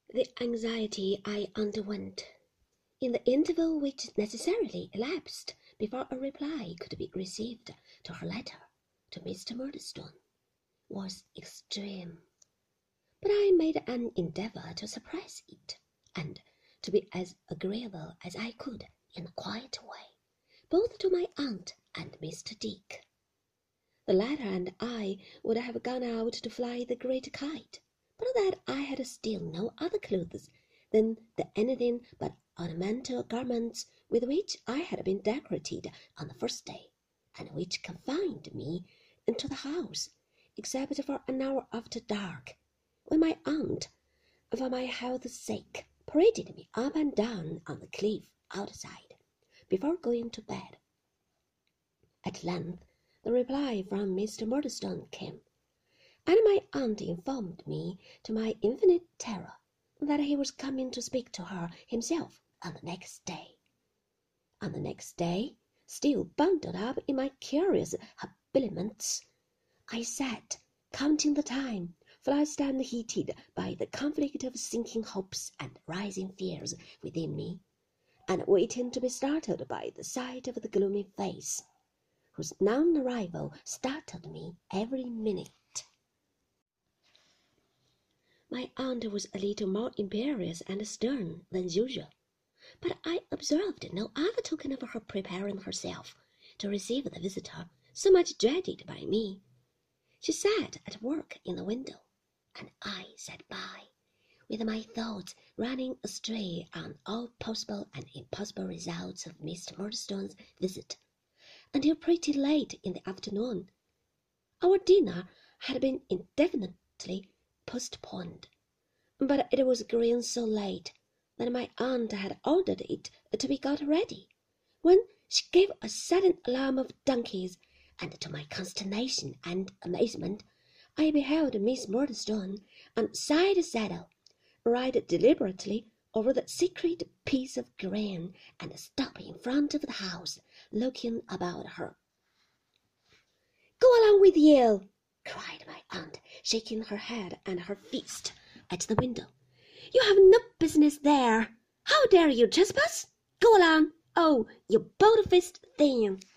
The anxiety I underwent, in the interval which necessarily elapsed before a reply could be received to her letter to Mr. Murdstone, was extreme. But I made an endeavour to suppress it, and to be as agreeable as I could in a quiet way, both to my aunt and Mr. Dick. The latter and I would have gone out to fly the great kite, but that I had still no other clothes than the anything but ornamental garments with which I had been decorated on the first day, and which confined me into the house, except for an hour after dark, when my aunt, for my health's sake, paraded me up and down on the cliff outside, before going to bed. At length the reply from Mr. Murdstone came, and my aunt informed me, to my infinite terror, that he was coming to speak to her himself on the next day. On the next day, still bundled up in my curious habiliments, I sat, counting the time, flushed and heated by the conflict of sinking hopes and rising fears within me, and waiting to be startled by the sight of the gloomy face, whose non-arrival startled me every minute. My aunt was a little more imperious and stern than usual, but I observed no other token of her preparing herself to receive the visitor so much dreaded by me. She sat at work in the window, and I sat by, with my thoughts running astray on all possible and impossible results of Mr. Murdstone's visit, until pretty late in the afternoon. Our dinner had been indefinitely postponed, but it was growing so late that my aunt had ordered it to be got ready, when she gave a sudden alarm of donkeys, and to my consternation and amazement, I beheld Miss Murdstone on side saddle, ride deliberately over the sacred piece of ground, and stop in front of the house, looking about her. "Go along with you!" cried my aunt, shaking her head and her fist at the window. "You have no business there. How dare you trespass? Go along! Oh, you bold-faced thing!"